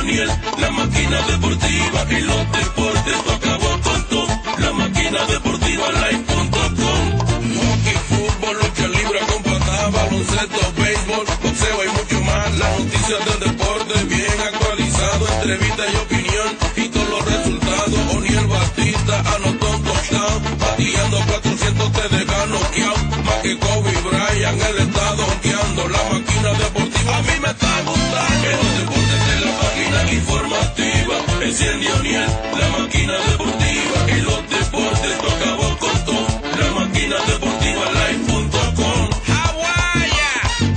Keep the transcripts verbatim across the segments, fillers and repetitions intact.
Daniel, la máquina deportiva y los deportes, tú acabó con todo. La máquina deportiva live punto com. Hockey, fútbol, lucha libre con patada, baloncesto, béisbol, boxeo y mucho más. Las noticias del deporte bien actualizado, entrevista y opinión y todos los resultados. Oniel Batista anotó un touchdown, bateando cuatrocientos te deja noqueado. Más que Kobe Bryant, el estado honkeando. La máquina deportiva a mí me está gustando. En los deportes de la máquina informativa, enciende Oniel, la máquina deportiva y los deportes, tú acabó con todo. La máquina deportiva live punto com. Hawaii.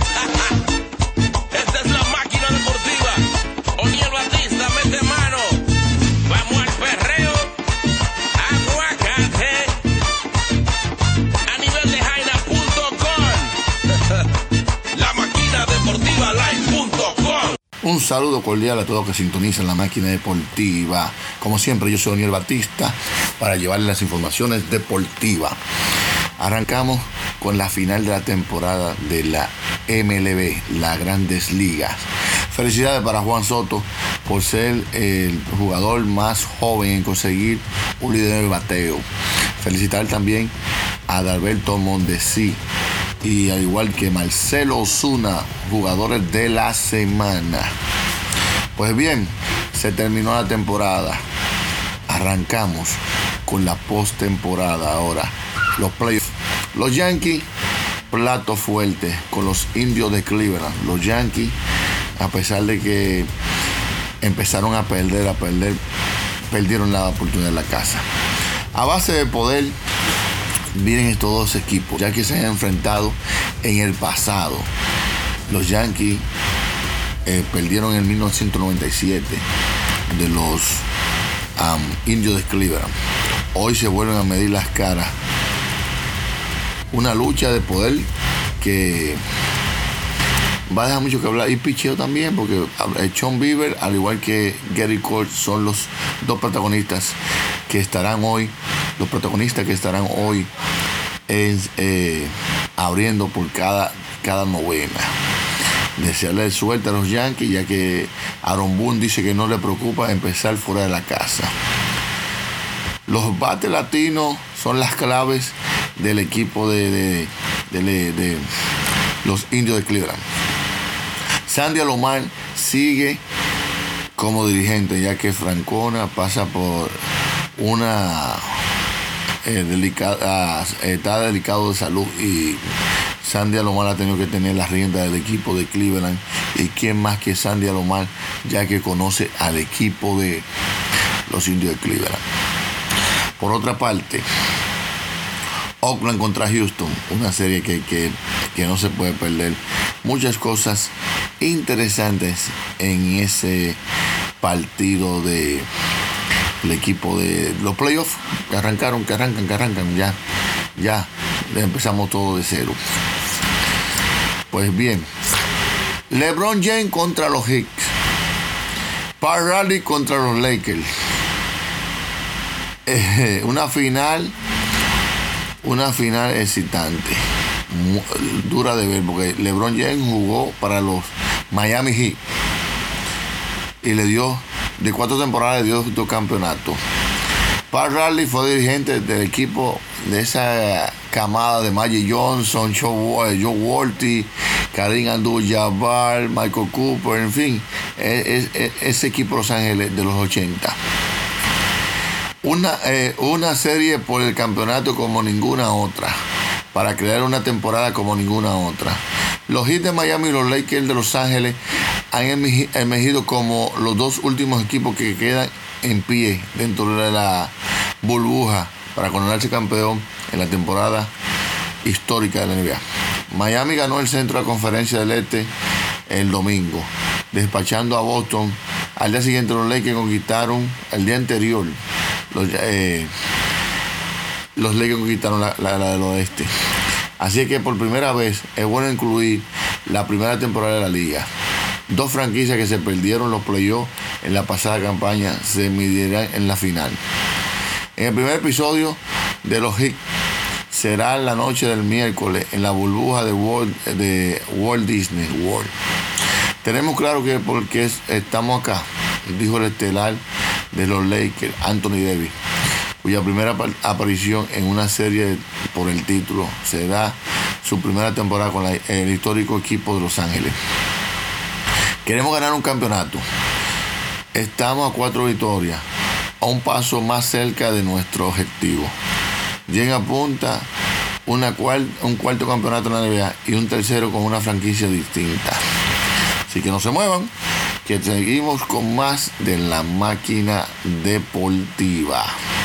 Esta es la máquina deportiva. Oniel Batista, mete mano. Vamos al perreo. Aguacate. A nivel de jaina punto com. La máquina deportiva live punto com. Un saludo cordial a todos que sintonizan la máquina deportiva. Como siempre, yo soy Oniel Batista para llevarles las informaciones deportivas. Arrancamos con la final de la temporada de la M L B, las Grandes Ligas. Felicidades para Juan Soto por ser el jugador más joven en conseguir un líder de bateo. Felicitar también a Adalberto Mondesi y al igual que Marcelo Ozuna, jugadores de la semana. Pues bien, se terminó la temporada. Arrancamos con la postemporada ahora. Los playoffs. Los Yankees, plato fuerte con los Indios de Cleveland. Los Yankees, a pesar de que empezaron a perder, a perder, perdieron la oportunidad en la casa. A base de poder vienen estos dos equipos, ya que se han enfrentado en el pasado. Los Yankees eh, perdieron en mil novecientos noventa y siete de los um, Indios de Cleveland. Hoy se vuelven a medir las caras. Una lucha de poder que va a dejar mucho que hablar. Y picheo también, porque Sean Bieber, al igual que Gary Cole, son los dos protagonistas que estarán hoy, los protagonistas que estarán hoy en, eh, abriendo por cada, cada novena. Desearle suerte a los Yankees, ya que Aaron Boone dice que no le preocupa empezar fuera de la casa. Los bates latinos son las claves del equipo de, de, de, de, de los Indios de Cleveland. Sandy Alomar sigue como dirigente, ya que Francona pasa por una eh, delicada, eh, está delicado de salud y Sandy Alomar ha tenido que tener las riendas del equipo de Cleveland. Y quién más que Sandy Alomar, ya que conoce al equipo de los Indios de Cleveland. Por otra parte, Oakland contra Houston, una serie que, que, que no se puede perder. Muchas cosas interesantes en ese partido de el equipo de los playoffs que arrancaron, que arrancan, que arrancan, ya, ya empezamos todo de cero. Pues bien, LeBron James contra los Hicks, Pat Riley contra los Lakers. Eh, una final, una final excitante, muy, dura de ver, porque LeBron James jugó para los Miami Heat y le dio, de cuatro temporadas, le dio dos campeonatos. Pat Riley fue dirigente del equipo de esa camada de Magic Johnson, Joe, Joe Walty, Kareem Abdul-Jabbar, Michael Cooper, en fin, es, es, ese equipo de Los Ángeles de los ochenta. Una, eh, una serie por el campeonato como ninguna otra, para crear una temporada como ninguna otra. Los Heat de Miami y los Lakers de Los Ángeles han emergido como los dos últimos equipos que quedan en pie dentro de la burbuja para coronarse campeón en la temporada histórica de la N B A. Miami ganó el centro de la Conferencia del Este el domingo, despachando a Boston. Al día siguiente los Lakers conquistaron, el día anterior, los, eh, los Lakers conquistaron la, la, la del oeste. Así que por primera vez es bueno incluir la primera temporada de la liga. Dos franquicias que se perdieron los playoffs en la pasada campaña se medirán en la final. En el primer episodio de los Heat será la noche del miércoles en la burbuja de Walt, de Walt Disney World. Tenemos claro que porque estamos acá, dijo el estelar de los Lakers, Anthony Davis, cuya primera aparición en una serie por el título será su primera temporada con la, el histórico equipo de Los Ángeles. Queremos ganar un campeonato. Estamos a cuatro victorias, a un paso más cerca de nuestro objetivo. Jen apunta una cual, un cuarto campeonato en la N B A y un tercero con una franquicia distinta. Así que no se muevan, que seguimos con más de La Máquina Deportiva.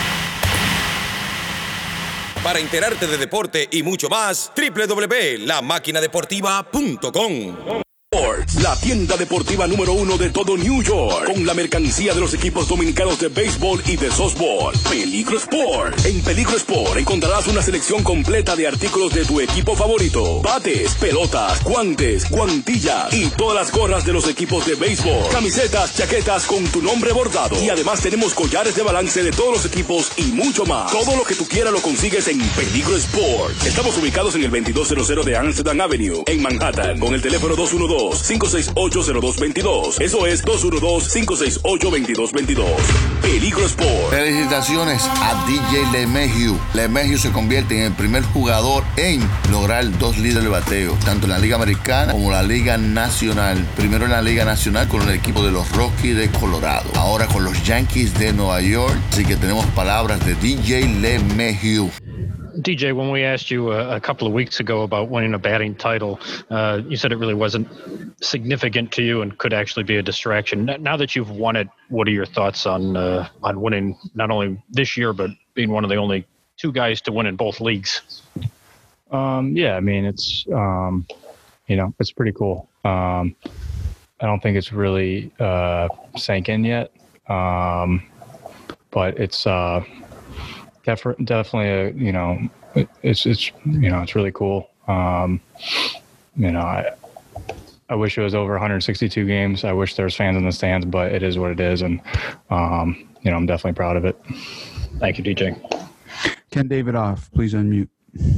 Para enterarte de deporte y mucho más, doble u doble u doble u punto la máquina deportiva punto com. La tienda deportiva número uno de todo New York, con la mercancía de los equipos dominicanos de béisbol y de softball. Peligro Sport. En Peligro Sport encontrarás una selección completa de artículos de tu equipo favorito: bates, pelotas, guantes, guantillas y todas las gorras de los equipos de béisbol, camisetas, chaquetas con tu nombre bordado. Y además tenemos collares de balance de todos los equipos y mucho más. Todo lo que tú quieras lo consigues en Peligro Sport. Estamos ubicados en el veintidós cero cero de Amsterdam Avenue, en Manhattan, con el teléfono dos uno dos, cinco seis ocho, cero dos dos dos. Eso es dos uno dos, cinco seis ocho, dos dos dos dos. Peligro Sport. Felicitaciones a D J LeMahieu. LeMahieu se convierte en el primer jugador en lograr dos líderes de bateo, tanto en la Liga Americana como la Liga Nacional. Primero en la Liga Nacional con el equipo de los Rockies de Colorado, ahora con los Yankees de Nueva York. Así que tenemos palabras de D J LeMahieu. D J, when we asked you a, a couple of weeks ago about winning a batting title, uh, you said it really wasn't significant to you and could actually be a distraction. Now that you've won it, what are your thoughts on uh, on winning not only this year, but being one of the only two guys to win in both leagues? Um, yeah, I mean, it's, um, you know, it's pretty cool. Um, I don't think it's really uh, sank in yet, um, but it's uh, def- definitely, a, you know, it, it's, it's, you know, it's really cool. Um, you know, I, I wish it was over one hundred sixty-two games. I wish there was fans in the stands, but it is what it is. And, um, you know, I'm definitely proud of it. Thank you, D J. Ken Davidoff, please unmute.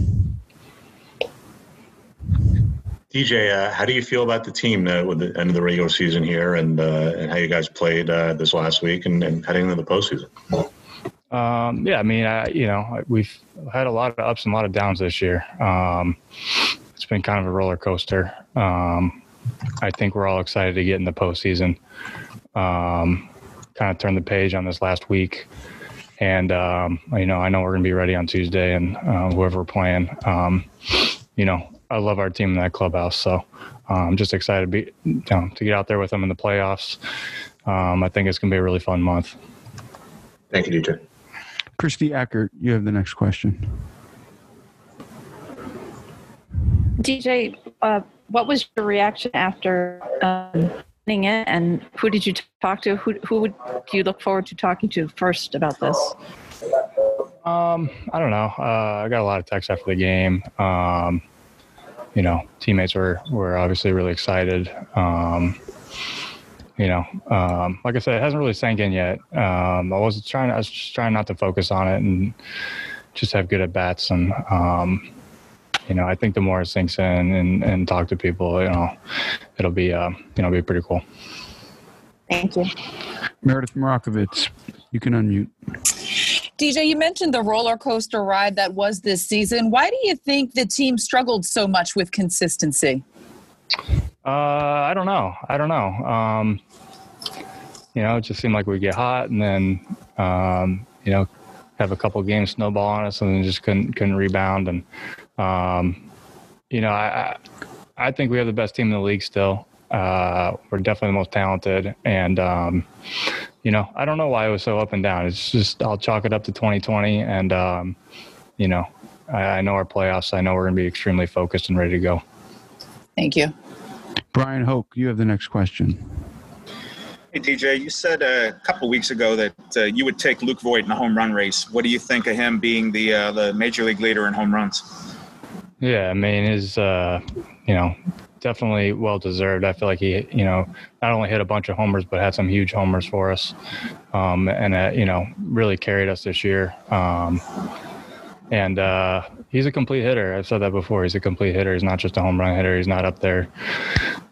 D J, uh, how do you feel about the team uh, with the end of the regular season here and uh, and how you guys played uh, this last week and, and heading into the postseason? Um, yeah, I mean, I, you know, we've had a lot of ups and a lot of downs this year. Um, it's been kind of a roller coaster. Um, I think we're all excited to get in the postseason. Um, kind of turn the page on this last week. And, um, you know, I know we're going to be ready on Tuesday and uh, whoever we're playing. Um, you know, I love our team in that clubhouse. So I'm um, just excited to be, you know, to get out there with them in the playoffs. Um, I think it's going to be a really fun month. Thank you, D J. Christy Eckert, you have the next question. D J, uh, what was your reaction after um, winning it, and who did you talk to? Who who would do you look forward to talking to first about this? Um, I don't know. Uh, I got a lot of texts after the game. Um, you know, teammates were were obviously really excited. Um, you know, um, like I said, it hasn't really sank in yet. Um, I was trying. I was just trying not to focus on it and just have good at bats. And um, you know, I think the more it sinks in and, and talk to people, you know, it'll be uh, you know, be pretty cool. Thank you. Meredith Marakovitz, you can unmute. D J, you mentioned the roller coaster ride that was this season. Why do you think the team struggled so much with consistency? Uh, I don't know. I don't know. Um, you know, it just seemed like we get hot and then, um, you know, have a couple games snowball on us and then just couldn't couldn't rebound. And, um, you know, I I think we have the best team in the league still. Uh, we're definitely the most talented. And, um, you know, I don't know why it was so up and down. It's just I'll chalk it up to twenty twenty. And, um, you know, I, I know our playoffs. I know we're going to be extremely focused and ready to go. Thank you. Brian Hoke, you have the next question. Hey, D J, you said a couple weeks ago that uh, you would take Luke Voit in a home run race. What do you think of him being the uh, the major league leader in home runs? Yeah, I mean, his, uh, you know, definitely well-deserved. I feel like he, you know, not only hit a bunch of homers, but had some huge homers for us. Um, and, uh, you know, really carried us this year. Um, and uh, he's a complete hitter. I've said that before. He's a complete hitter. He's not just a home run hitter. He's not up there,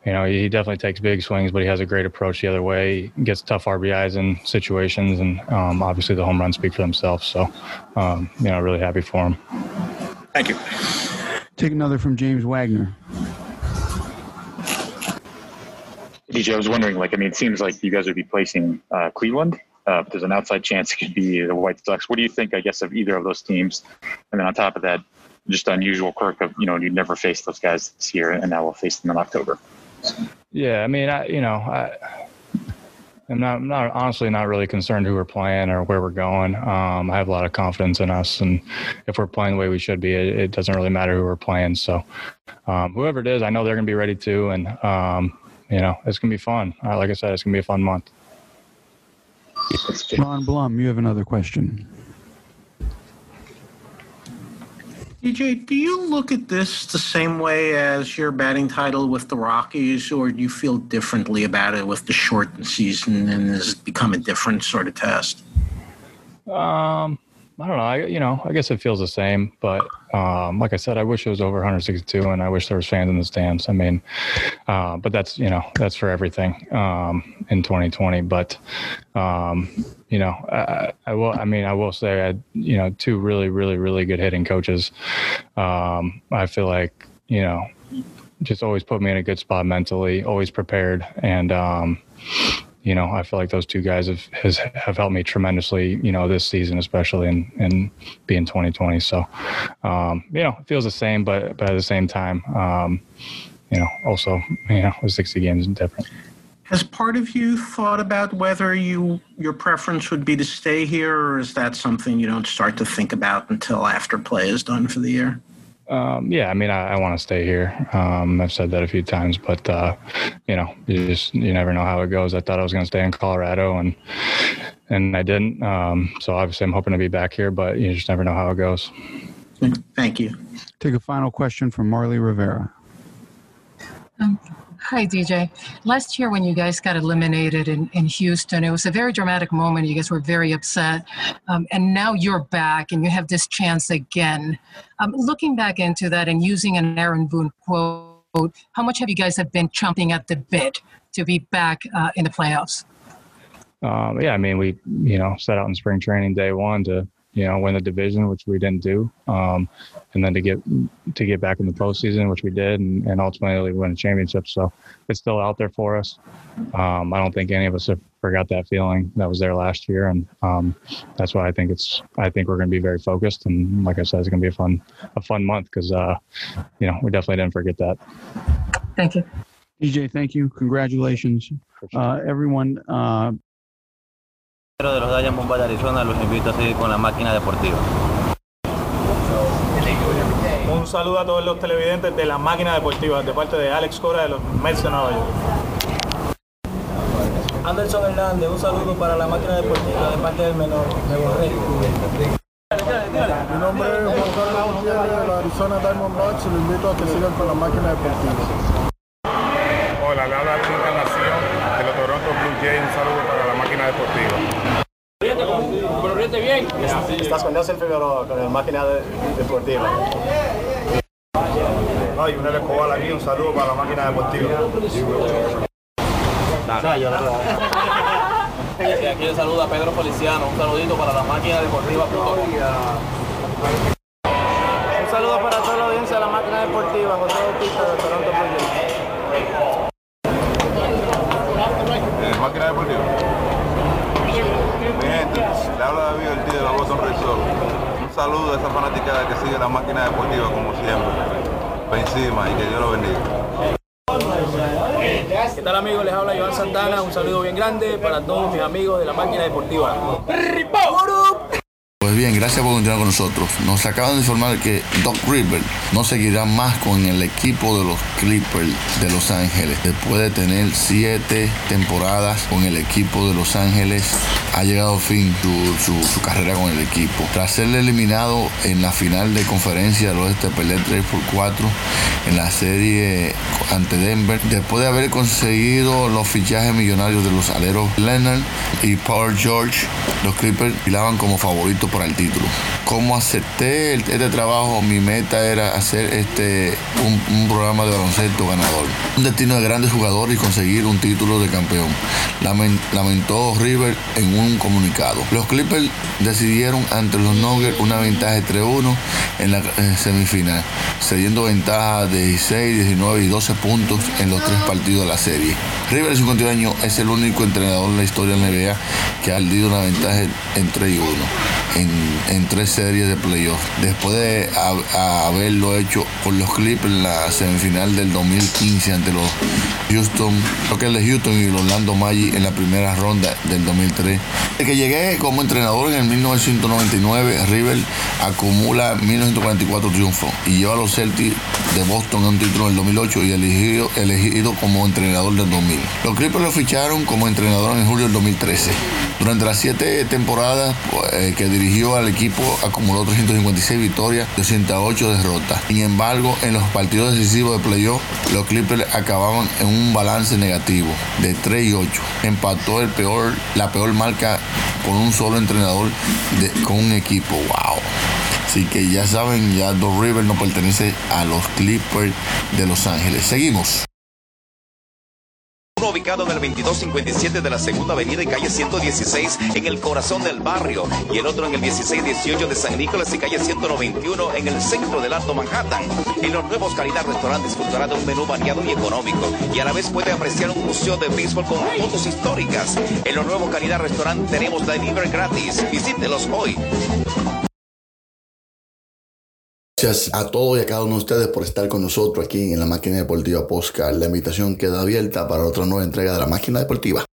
you know, he definitely takes big swings, but he has a great approach the other way. He gets tough R B Is in situations, and um, obviously the home runs speak for themselves. So, um, you know, really happy for him. Thank you. Take another from James Wagner. D J, I was wondering, like, I mean, it seems like you guys would be placing uh, Cleveland. Uh, there's an outside chance it could be the White Sox. What do you think, I guess, of either of those teams? And then on top of that, just unusual quirk of, you know, you never faced those guys this year, and now we'll face them in October. Yeah, I mean, I, you know, I, I'm not, I'm not honestly not really concerned who we're playing or where we're going. Um, I have a lot of confidence in us, and if we're playing the way we should be, it, it doesn't really matter who we're playing. So um, whoever it is, I know they're going to be ready too, and um, you know, it's going to be fun. Uh, like I said, it's going to be a fun month. Ron Blum, you have another question. D J, do you look at this the same way as your batting title with the Rockies, or do you feel differently about it with the shortened season, and has it become a different sort of test? Um, I don't know. I, you know, I guess it feels the same, but um, like I said, I wish it was over one sixty-two, and I wish there was fans in the stands. I mean, uh, but that's, you know, that's for everything um, in twenty twenty. But um, you know, I, I will. I mean, I will say, I, you know, two really, really, really good hitting coaches. Um, I feel like, you know, just always put me in a good spot mentally, always prepared, and um, you know, I feel like those two guys have has, have helped me tremendously, you know, this season, especially in, in being twenty twenty. So, um, you know, it feels the same, but, but at the same time, um, you know, also, you know, with sixty games is different. Has part of you thought about whether you your preference would be to stay here, or is that something you don't start to think about until after play is done for the year? Um, yeah, I mean, I, I want to stay here. Um, I've said that a few times, but, uh, you know, you just, you never know how it goes. I thought I was going to stay in Colorado, and, and I didn't. Um, so obviously I'm hoping to be back here, but you just never know how it goes. Thank you. Take a final question from Marley Rivera. Um, hi, D J. Last year when you guys got eliminated in, in Houston, it was a very dramatic moment. You guys were very upset. Um, and now you're back and you have this chance again. Um, looking back into that and using an Aaron Boone quote, how much have you guys have been chomping at the bit to be back uh, in the playoffs? Um, yeah, I mean, we, you know, set out in spring training day one to, you know, win the division, which we didn't do. Um, and then to get to get back in the postseason, which we did, and, and ultimately win a championship. So it's still out there for us. Um, I don't think any of us have forgot that feeling that was there last year. And um, that's why I think it's, I think we're going to be very focused. And like I said, it's going to be a fun, a fun month because, uh, you know, we definitely didn't forget that. Thank you. D J, thank you. Congratulations. Uh, everyone, uh, de los Diamondbacks de Arizona, los invito a seguir con la máquina deportiva. Un saludo a todos los televidentes de la máquina deportiva de parte de Alex Cora de los Mets de Nueva York. Anderson Hernández, un saludo para la máquina deportiva de parte del menor de Borrego. Mi nombre es Juan Carlos Gutiérrez de los Arizona Diamondbacks y lo invito a que sigan con la máquina deportiva. Hola, le habla la Encarnación de los Toronto Blue Jays. Un saludo para la máquina deportiva. Pero ríete bien. Estás con Nelson Figueroa con la máquina de, deportiva. No, y un Escobar aquí, un saludo para la máquina deportiva. Y aquí le saluda a Pedro Feliciano, un saludito para la máquina deportiva. Un saludo para toda la audiencia de la máquina deportiva, José Bautista de Toronto Blue Jays. Eh, máquina deportiva. Mi gente, le habla David Ortiz de los Boston Red Sox. Un saludo a esa fanaticada que sigue la máquina deportiva como siempre. Para encima y que Dios lo bendiga. ¿Qué tal, amigos? Les habla Iván Santana. Un saludo bien grande para todos mis amigos de la máquina deportiva. Pues bien, gracias por continuar con nosotros. Nos acaban de informar que Doc Rivers no seguirá más con el equipo de los Clippers de Los Ángeles. Después de tener siete temporadas con el equipo de Los Ángeles, ha llegado a fin su, su, su carrera con el equipo. Tras ser eliminado en la final de conferencia del oeste, perder tres por cuatro en la serie ante Denver, después de haber conseguido los fichajes millonarios de los aleros Leonard y Paul George, los Clippers filaban como favoritos para para el título. Como acepté este trabajo, mi meta era hacer este un, un programa de baloncesto ganador, un destino de grandes jugadores y conseguir un título de campeón, lamentó River en un comunicado. Los Clippers decidieron ante los Nuggets una ventaja de tres uno en la eh, semifinal, cediendo ventaja de dieciséis, diecinueve y doce puntos en los tres partidos de la serie. River, de cincuenta y un años, es el único entrenador en la historia de la N B A que ha perdido una ventaja en tres y uno en, en tres series de playoff, después de a, a haberlo hecho con los Clippers en la semifinal del dos mil quince ante los Houston, lo que es de Houston y los Orlando Magic en la primera ronda del dos mil tres. Desde que llegué como entrenador en el mil novecientos noventa y nueve, River acumula mil novecientos cuarenta y cuatro triunfos y lleva a los Celtics de Boston a un título en el dos mil ocho y elegido, elegido como entrenador del dos mil. Los Clippers lo ficharon como entrenador en julio del dos mil trece. Durante las siete temporadas eh, que dirigió al equipo, acumuló trescientas cincuenta y seis victorias, doscientas ocho derrotas. Sin embargo, en los partidos decisivos de playoff, los Clippers acababan en un balance negativo de tres y ocho. Empató el peor, la peor marca con un solo entrenador de, con un equipo. ¡Wow! Así que ya saben, ya Doc Rivers no pertenece a los Clippers de Los Ángeles. Seguimos. Uno ubicado en el veintidós cincuenta y siete de la Segunda Avenida y calle ciento dieciséis en el corazón del barrio, y el otro en el dieciséis dieciocho de San Nicolás y calle ciento noventa y uno en el centro del Alto Manhattan. En los nuevos Calidad Restaurant disfrutará de un menú variado y económico, y a la vez puede apreciar un museo de béisbol con fotos históricas. En los nuevos Calidad Restaurant tenemos delivery gratis. Visítelos hoy. Gracias a todos y a cada uno de ustedes por estar con nosotros aquí en la Máquina Deportiva Podcast. La invitación queda abierta para otra nueva entrega de la Máquina Deportiva.